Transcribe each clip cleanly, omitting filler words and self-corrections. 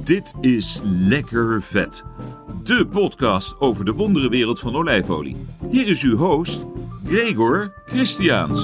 Dit is Lekker Vet, de podcast over de wonderenwereld van olijfolie. Hier is uw host, Gregor Christiaans.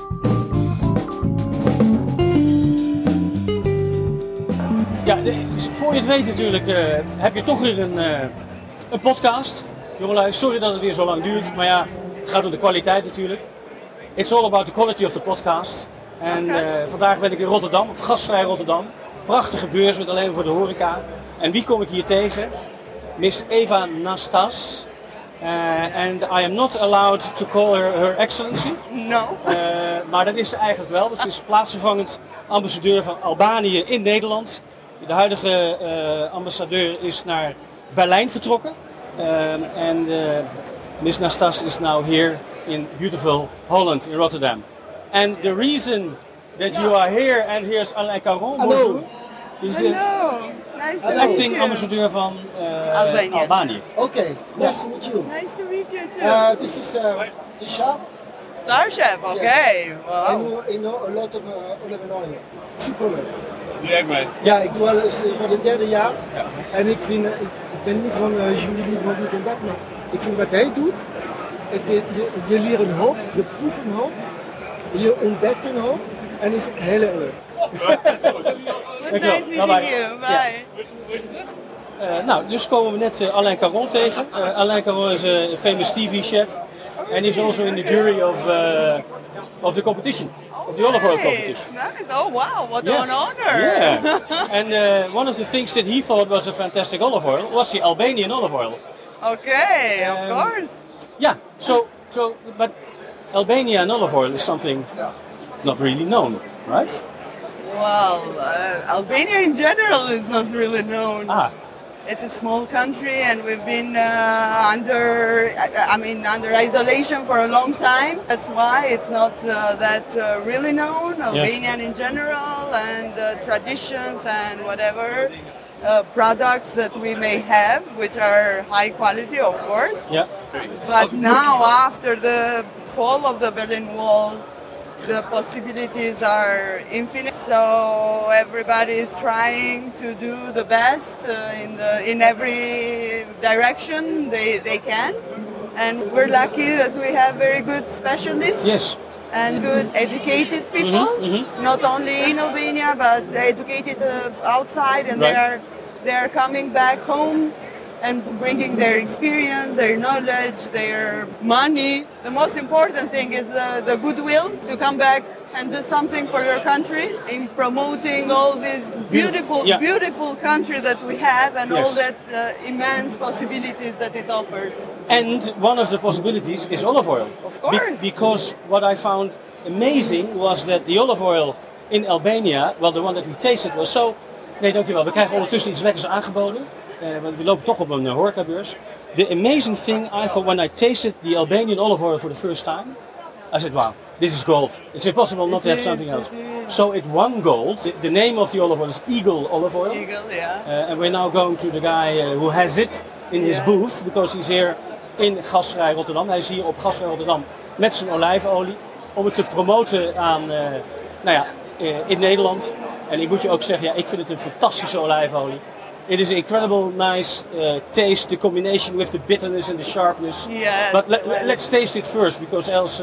Ja, voor je het weet natuurlijk heb je toch weer een podcast. Jongelui, sorry dat het weer zo lang duurt, maar ja, het gaat om de kwaliteit natuurlijk. It's all about the quality of the podcast. En vandaag ben ik in Rotterdam, op Gastvrij Rotterdam. Prachtige beurs met alleen voor de horeca. En wie kom ik hier tegen? Miss Eva Nastas. And I am not allowed to call her Excellency. No. Maar dat is ze eigenlijk wel, want ze is plaatsvervangend ambassadeur van Albanië in Nederland. De huidige ambassadeur is naar Berlijn vertrokken. En Miss Nastas is now here in beautiful Holland, in Rotterdam. And the reason that you are here, and here's Alain Caron, bonjour, is the Nice acting ambassadeur van Albanië. Okay, nice to meet you. Nice to meet you too. This is Isha. Star Chef, okay. Wow. I know a lot of olive oil. Superleuk. Doe jij mee? Ja, ik doe al eens voor het derde jaar. Ja. En ik ben niet van jury van dit en dat, maar ik vind wat hij doet. Je leert een hoop, je proeft een hoop, je ontdekt een hoop en is heel erg leuk. Nice meeting you. Bye. Nou, dus komen we net Alain Caron tegen. Alain Caron is een famous TV chef. And he's also in the jury of the competition. Of the olive oil competition. Nice. Oh wow, what Yeah. an honor. Yeah. And one of the things that he thought was a fantastic olive oil was the Albanian olive oil. Okay, of course. Yeah. But Albanian olive oil is something not really known, right? Well, Albania in general is not really known. Ah. It's a small country, and we've been under isolation for a long time. That's why it's not that really known. Albanian in general, and traditions and whatever products that we may have, which are high quality, of course. Yeah. But now, after the fall of the Berlin Wall, the possibilities are infinite. So everybody is trying to do the best in every direction they can. And we're lucky that we have very good specialists. Yes. And good educated people, not only in Albania, but educated outside, and Right. they are coming back home and bringing their experience, their knowledge, their money. The most important thing is the goodwill to come back and do something for your country in promoting all this beautiful country that we have, and all that immense possibilities that it offers. And one of the possibilities is olive oil. Of course. Because what I found amazing was that the olive oil in Albania, well, the one that we tasted was so... Nee, dankjewel. We krijgen ondertussen iets lekkers aangeboden. Want we lopen toch op een horecabeurs. The amazing thing I thought when I tasted the Albanian olive oil for the first time, I said, wow, this is gold. It's impossible not to have something else. So it won gold. The name of the olive oil is Eagle olive oil. Eagle, yeah. And we're now going to the guy who has it in his booth, because he's here in Gastvrij Rotterdam. Hij is hier op Gastvrij Rotterdam met zijn olijfolie om het te promoten aan, in Nederland. En ik moet je ook zeggen, ik vind het een fantastische olijfolie. It is an incredible, nice taste, the combination with the bitterness and the sharpness. Yes. But let's taste it first, because else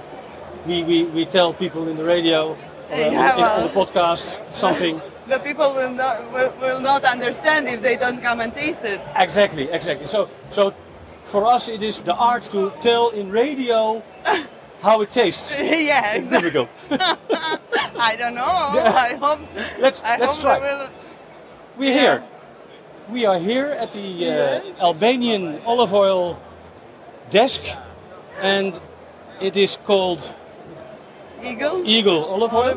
we tell people in the radio or on the podcast something. The people will not understand if they don't come and taste it. Exactly. So for us it is the art to tell in radio how it tastes. Yeah, It's difficult. I don't know. I hope. Let's try. We're here. Yeah. We are here at the Albanian olive oil desk, and it is called Eagle olive oil.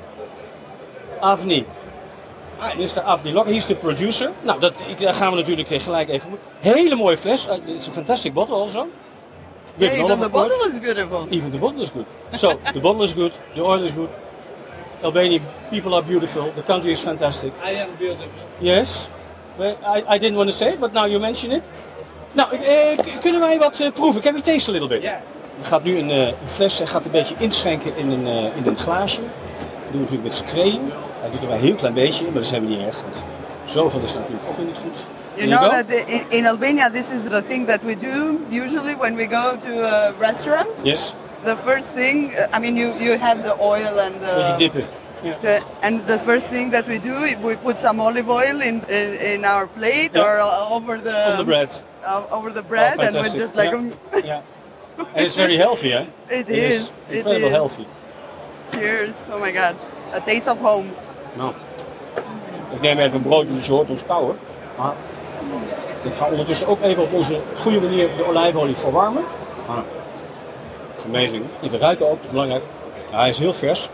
Avni. Mr. Avni Lok, he's the producer. Nou, daar gaan we natuurlijk gelijk even. Hele mooie fles. It's a fantastic bottle also. Yeah, even the bottle is beautiful. Even the bottle is good. So, the bottle is good, the oil is good. Albanian people are beautiful, the country is fantastic. I am beautiful. Yes. Well, I didn't want to say it, but now you mention it. Nou, kunnen wij wat proeven? Can we taste a little bit? Yeah. Er gaat nu een fles, hij gaat een beetje inschenken in een glaasje. Dat doen we natuurlijk met z'n tweeën. Hij doet er maar een heel klein beetje, maar dat is helemaal niet erg. Want Zoveel is natuurlijk ook niet goed. You know that in Albania, this is the thing that we do usually when we go to a restaurant. Yes. The first thing, you have the oil and Beetje dippen. Yeah. and the first thing that we do, we put some olive oil in our plate or over the bread. Over the bread, and we're just like. Yeah. And it's very healthy, eh? It is incredible healthy. Cheers! Oh my god, a taste of home. Nou, ik neem even een broodje, dus je hoort ons kauwen. Maar ik ga ondertussen ook even op onze goede manier de olijfolie verwarmen. It's amazing. Even ruiken ook, dat is belangrijk. Ja, hij is heel vers.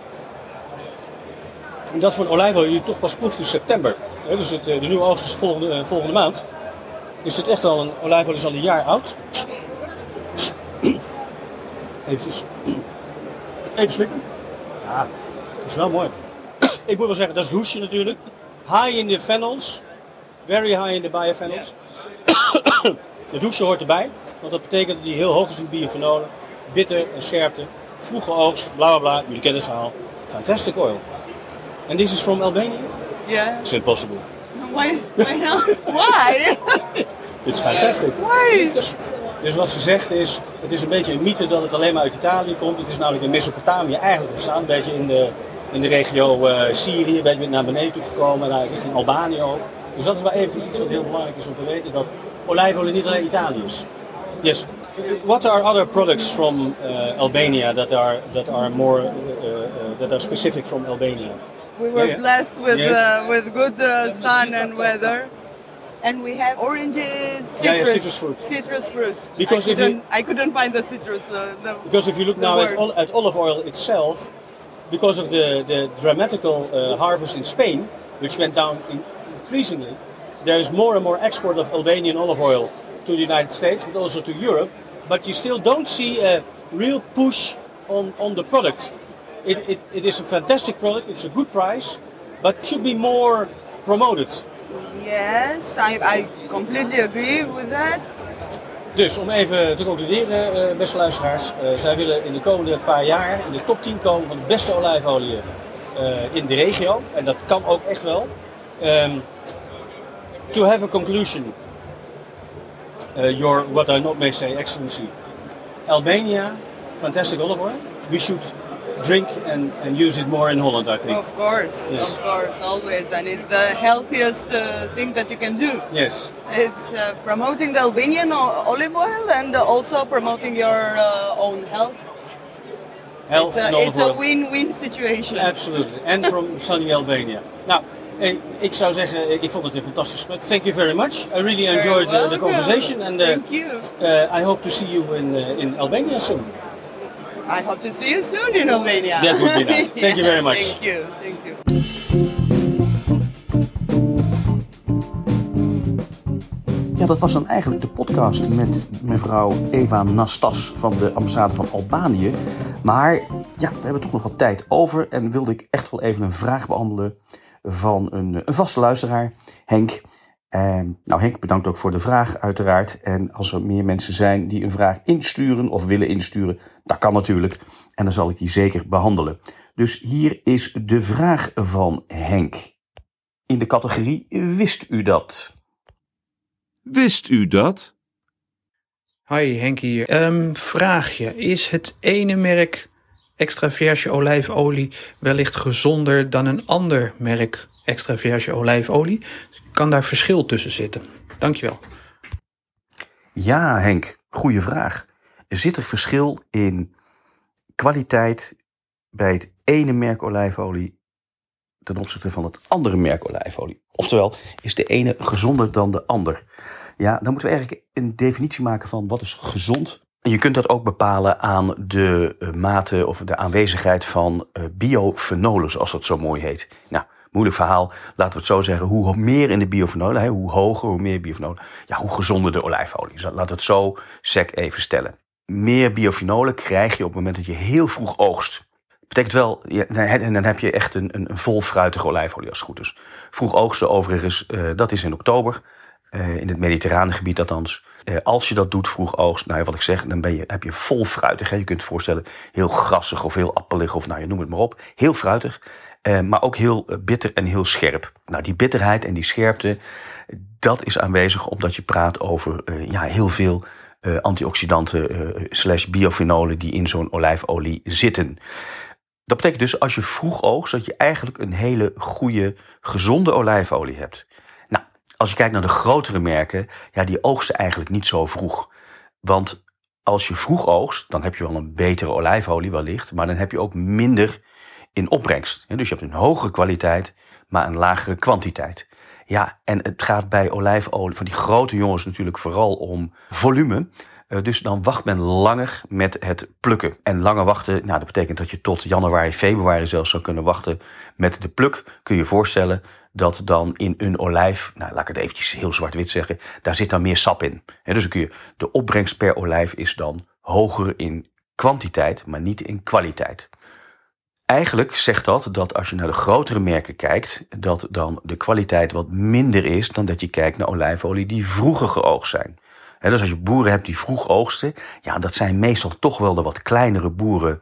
En dat is voor een olijfolie die je toch pas proeft in september. Dus de nieuwe oogst is volgende maand. Is het echt al een olijfolie is al een jaar oud. Even slikken. Ja, dat is wel mooi. Ik moet wel zeggen, dat is het hoesje natuurlijk. High in de phenols. Very high in de biophenols. Het hoesje hoort erbij. Want dat betekent dat die heel hoog is in biophenolen. Bitter en scherpte. Vroege oogst, bla bla bla. Jullie kennen het verhaal. Fantastic oil. And this is from Albania? Yeah. It's impossible. Why? Why? It's fantastic. Why? Dus wat ze zegt is, het is een beetje een mythe dat het alleen maar uit Italië komt. Het is namelijk in Mesopotamië eigenlijk ontstaan, een beetje in de regio Syrië, een beetje naar beneden toe gekomen, naar richting Albanië ook. Dus dat is wel even iets wat heel belangrijk is om te weten, dat olijfolie niet alleen Italië is. Yes. What are other products from Albania that are specific from Albania? We were blessed with good sun and weather. And we have oranges, citrus fruit. Citrus fruit. Because I couldn't find the citrus. Because if you look now at olive oil itself, because of the dramatical harvest in Spain, which went down increasingly, there is more and more export of Albanian olive oil to the United States, but also to Europe. But you still don't see a real push on the product. It is a fantastic product. It's a good price, but should be more promoted. Yes, I completely agree with that. Dus om even te concluderen, beste luisteraars. Zij willen in de komende paar jaar in de top 10 komen van de beste olijfolie in de regio. En dat kan ook echt wel. To have a conclusion, your what I not may say, Excellency. Albania, fantastic olive oil. We should drink and use it more in Holland, I think. Of course, yes. Of course, always, and it's the healthiest thing that you can do. Yes. It's promoting the Albanian olive oil and also promoting your own health. Health and olive oil. It's a win-win situation. Absolutely, and from sunny Albania. Nou, ik zou zeggen, ik vond het een fantastisch gesprek. Thank you very much. I really enjoyed the conversation, and thank you. I hope to see you in Albania soon. I hope to see you soon in Albania. That would be nice. Thank you very much. Thank you. Thank you. Ja, dat was dan eigenlijk de podcast met mevrouw Eva Nastas van de ambassade van Albanië. Maar ja, we hebben toch nog wat tijd over en wilde ik echt wel even een vraag behandelen van een vaste luisteraar, Henk. Nou, Henk, bedankt ook voor de vraag uiteraard. En als er meer mensen zijn die een vraag insturen of willen insturen, dat kan natuurlijk. En dan zal ik die zeker behandelen. Dus hier is de vraag van Henk. In de categorie Wist u dat? Wist u dat? Hoi, Henk hier. Vraagje. Is het ene merk extra verse olijfolie wellicht gezonder dan een ander merk extra verse olijfolie? Kan daar verschil tussen zitten? Dankjewel. Ja, Henk, goede vraag. Zit er verschil in kwaliteit bij het ene merk olijfolie ten opzichte van het andere merk olijfolie? Oftewel, is de ene gezonder dan de ander? Ja, dan moeten we eigenlijk een definitie maken van wat is gezond. En je kunt dat ook bepalen aan de mate of de aanwezigheid van biofenolen, zoals dat zo mooi heet. Nou, moeilijk verhaal, laten we het zo zeggen. Hoe meer in de biofenolen, hoe hoger, hoe meer biofenolen, ja, hoe gezonder de olijfolie. Dus laten we het zo sec even stellen. Meer biofenolen krijg je op het moment dat je heel vroeg oogst. Betekent wel, en dan heb je echt een vol fruitige olijfolie als het goed is. Vroeg oogsten overigens, dat is in oktober. In het mediterrane gebied althans. Als je dat doet, vroeg oogst, nou ja, wat ik zeg, dan heb je vol fruitig. Hè. Je kunt je voorstellen, heel grassig of heel appelig of nou, je noem het maar op. Heel fruitig. Maar ook heel bitter en heel scherp. Nou, die bitterheid en die scherpte, dat is aanwezig omdat je praat over heel veel antioxidanten / biofenolen die in zo'n olijfolie zitten. Dat betekent dus als je vroeg oogst dat je eigenlijk een hele goede, gezonde olijfolie hebt. Nou, als je kijkt naar de grotere merken, die oogsten eigenlijk niet zo vroeg. Want als je vroeg oogst, dan heb je wel een betere olijfolie wellicht, maar dan heb je ook minder in opbrengst. Dus je hebt een hogere kwaliteit, maar een lagere kwantiteit. Ja, en het gaat bij olijfolie van die grote jongens natuurlijk vooral om volume. Dus dan wacht men langer met het plukken. En langer wachten, dat betekent dat je tot januari, februari zelfs zou kunnen wachten met de pluk. Kun je je voorstellen dat dan in een olijf, laat ik het eventjes heel zwart-wit zeggen, daar zit dan meer sap in. Dus dan kun je, de opbrengst per olijf is dan hoger in kwantiteit, maar niet in kwaliteit. Eigenlijk zegt dat als je naar de grotere merken kijkt, dat dan de kwaliteit wat minder is dan dat je kijkt naar olijfolie die vroeger geoogst zijn. Dus als je boeren hebt die vroeg oogsten, dat zijn meestal toch wel de wat kleinere boeren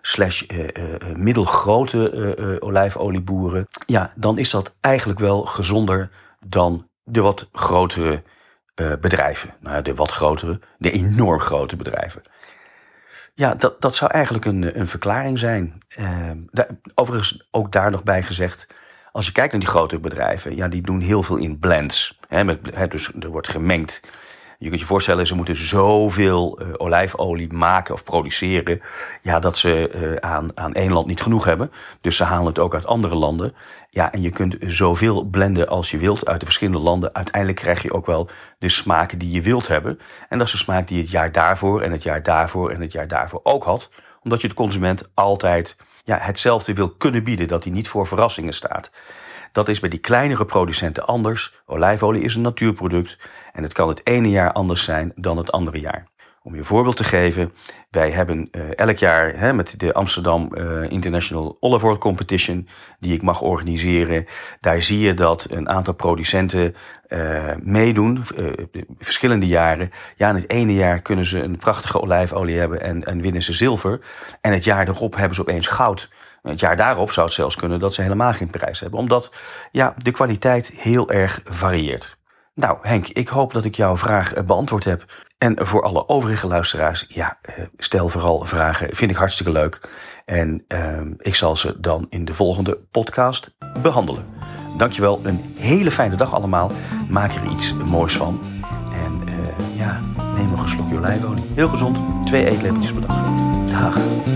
/ middelgrote olijfolieboeren. Ja, dan is dat eigenlijk wel gezonder dan de wat grotere bedrijven. De wat grotere, de enorm grote bedrijven. Ja, dat zou eigenlijk een verklaring zijn. Overigens ook daar nog bij gezegd, als je kijkt naar die grotere bedrijven, die doen heel veel in blends. Dus er wordt gemengd. Je kunt je voorstellen, ze moeten zoveel olijfolie maken of produceren, dat ze aan één land niet genoeg hebben. Dus ze halen het ook uit andere landen. Ja, en je kunt zoveel blenden als je wilt uit de verschillende landen. Uiteindelijk krijg je ook wel de smaak die je wilt hebben. En dat is de smaak die je het jaar daarvoor en het jaar daarvoor en het jaar daarvoor ook had. Omdat je de consument altijd hetzelfde wil kunnen bieden, dat hij niet voor verrassingen staat. Dat is bij die kleinere producenten anders. Olijfolie is een natuurproduct en het kan het ene jaar anders zijn dan het andere jaar. Om je een voorbeeld te geven, wij hebben elk jaar met de Amsterdam International Olive Oil Competition, die ik mag organiseren, daar zie je dat een aantal producenten meedoen, verschillende jaren. Ja, in het ene jaar kunnen ze een prachtige olijfolie hebben en winnen ze zilver. En het jaar erop hebben ze opeens goud. Het jaar daarop zou het zelfs kunnen dat ze helemaal geen prijs hebben. Omdat de kwaliteit heel erg varieert. Nou Henk, ik hoop dat ik jouw vraag beantwoord heb. En voor alle overige luisteraars, stel vooral vragen. Vind ik hartstikke leuk. En ik zal ze dan in de volgende podcast behandelen. Dankjewel, een hele fijne dag allemaal. Maak er iets moois van. En neem nog een slokje olijfolie. Heel gezond, 2 eetlepeltjes per dag. Dag.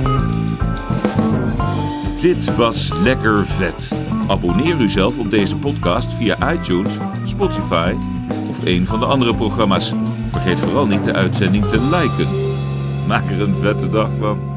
Dit was Lekker Vet. Abonneer u zelf op deze podcast via iTunes, Spotify of een van de andere programma's. Vergeet vooral niet de uitzending te liken. Maak er een vette dag van.